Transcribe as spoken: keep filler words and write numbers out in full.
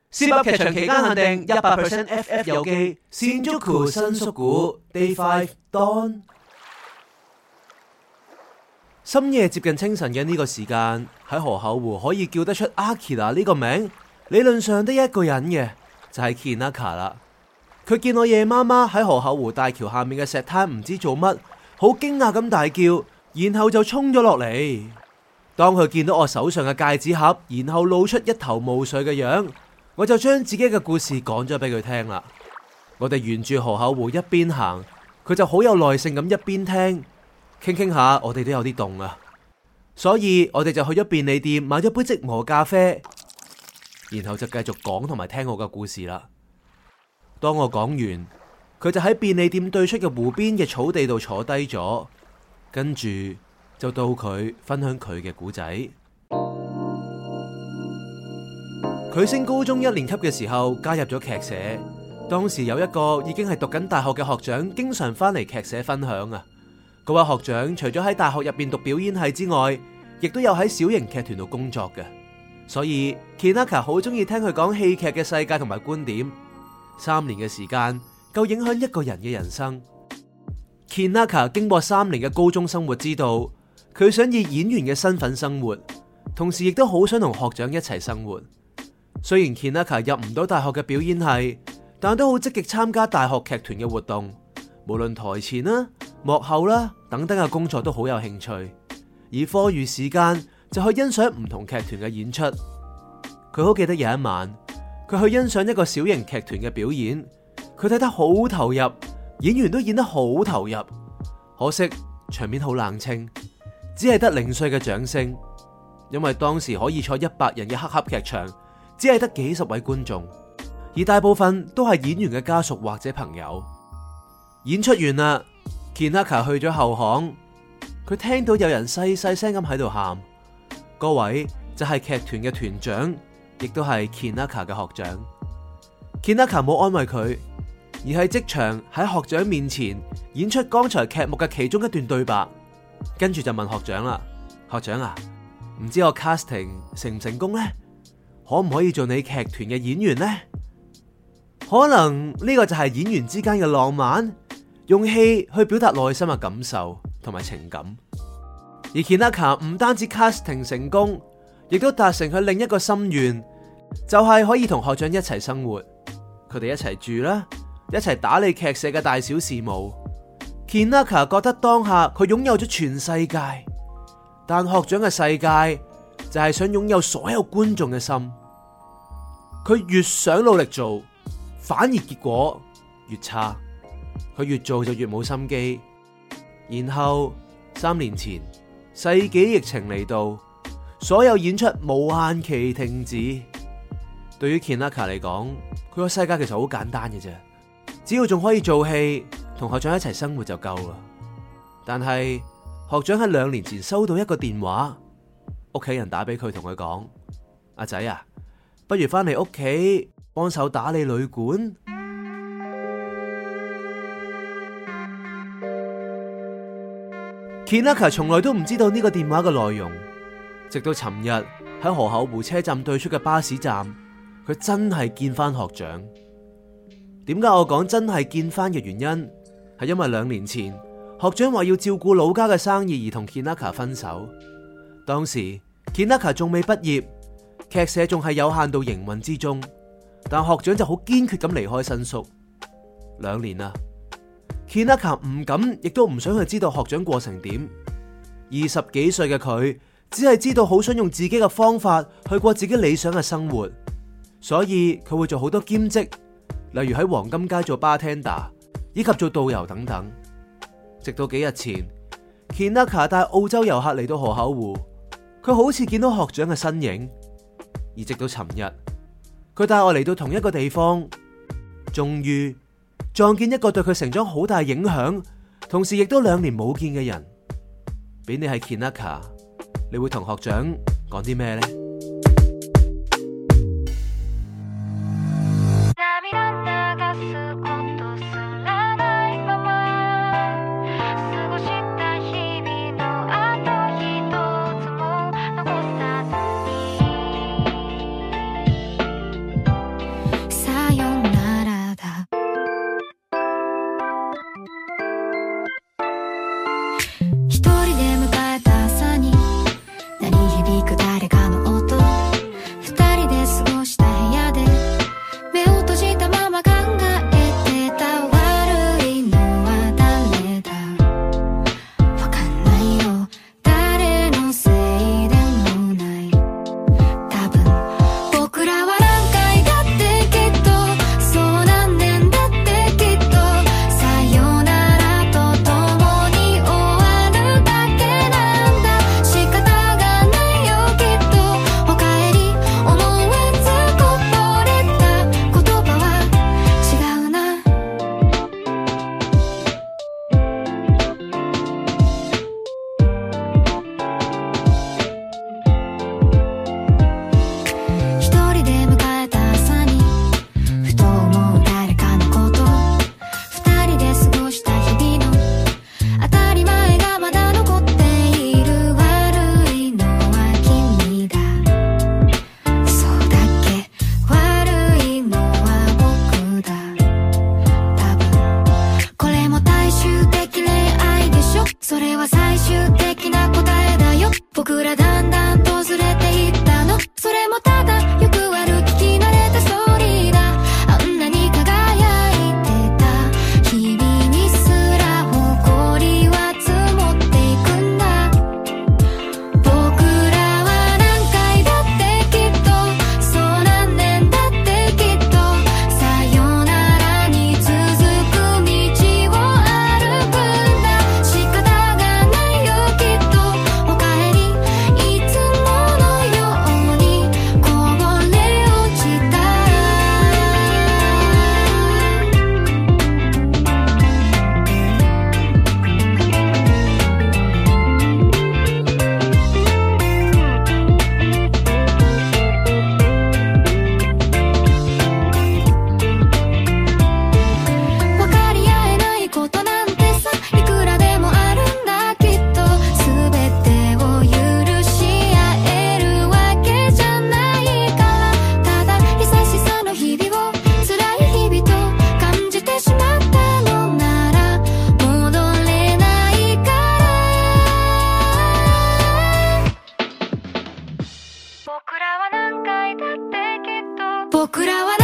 Zip 噏劇場期間限定一百 percent F F 遊記，Shinjuku 新宿故 Day Five Dawn。深夜接近清晨嘅呢個時間，喺河口湖可以叫得出 Akira 呢個名，理論上得一個人嘅就係 Kinaka 啦。佢見我夜媽媽喺河口湖大橋下面嘅石灘唔知做乜，好驚訝咁大叫，然後就衝咗落嚟。當佢見到我手上嘅戒指盒，然後露出一頭霧水嘅樣，我就將自己嘅故事講咗俾佢聽啦。我哋沿住河口湖一邊行，佢就好有耐性咁一邊聽，傾傾下，我哋都有啲凍啊，所以我哋就去咗便利店買咗杯即磨咖啡，然後就繼續講同埋聽我嘅故事啦。當我講完，佢就喺便利店對出嘅湖邊嘅草地度坐低咗，跟住就到佢分享佢嘅故仔。佢升高中一年級嘅時候加入咗劇社，當時有一個已經係讀緊大學嘅學長經常翻嚟劇社分享啊。嗰位學長除咗喺大學入邊讀表演系之外，亦都有喺小型劇團度工作嘅，所以 Kinaka 好中意聽佢講戲劇嘅世界同埋觀點。三年嘅時間夠影響一個人嘅人生。Kinaka 經過三年嘅高中生活，知道佢想以演員嘅身份生活，同時亦都好想同學長一齊生活。雖然 Kinaka 入唔到大學嘅表演系，但都好積極參加大學劇團嘅活動，無論台前啦、幕後啦等等嘅工作都好有興趣。而課餘時間就去欣賞唔同劇團嘅演出。佢好記得有一晚，佢去欣賞一個小型劇團嘅表演，佢睇得好投入，演員都演得好投入。可惜場面好冷清，只係得零碎嘅掌聲，因為當時可以坐一百人嘅黑盒劇場，只係得幾十位觀眾，而大部分都係演員嘅家屬或者朋友。演出完啦， Kinaka 去咗後巷，佢聽到有人細細聲咁喺度喊，嗰位就係劇團嘅團長，亦都係 Kinaka 嘅學長。Kinaka 冇安慰佢，而係即場喺學長面前演出剛才劇目嘅其中一段對白，跟住就問學長啦：學長啊，唔知我 casting 成唔成功呢？可唔可以做你劇團嘅演員呢？可能呢個就係演員之間嘅浪漫，用戲去表達內心嘅感受同埋情感。而 Kinaka 唔單止 casting 成功，亦都達成佢另一個心願，就係可以同學長一齊生活。佢哋一齊住啦，一齊打理劇社嘅大小事務。Kinaka 覺得當下佢擁有咗全世界，但學長嘅世界就係想擁有所有觀眾嘅心。佢越想努力做，反而結果越差。佢越做就越冇心機。然後三年前世紀疫情嚟到，所有演出無限期停止。對於 Kinaka 嚟講，佢個世界其實好簡單嘅啫，只要仲可以做戲，同學長一齊生活就夠啦。但係學長喺兩年前收到一個電話，屋企人打俾佢，同佢講：阿仔啊，不如翻嚟屋企幫手打理旅館。Kinaka 從來都唔知道呢個電話嘅內容，直到尋日喺河口湖車站對出嘅巴士站，佢真係見翻學長。點解我講真係見翻嘅原因，係因為兩年前學長話要照顧老家嘅生意而同 Kinaka 分手。當時 Kinaka 仲未畢業，劇社仲係有限度營運之中，但學長就好堅決咁離開新宿。兩年啦，Kinaka 唔敢，亦都唔想去知道學長過成點。二十幾歲嘅佢，只係知道好想用自己嘅方法去過自己理想嘅生活，所以佢會做好多兼職，例如喺黃金街做 bartender， 以及做導遊等等。直到幾日前 ，Kinaka 帶澳洲遊客嚟到河口湖，佢好似見到學長嘅身影。而直到尋日，佢帶我嚟到同一個地方，終於撞見一個對佢成長好大影響，同時亦都兩年冇見嘅人。俾你係 Kinaka， 你會同學長講啲咩呢？ 桜は